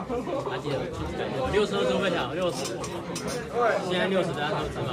还记得62周分享60，现在60大家都知道。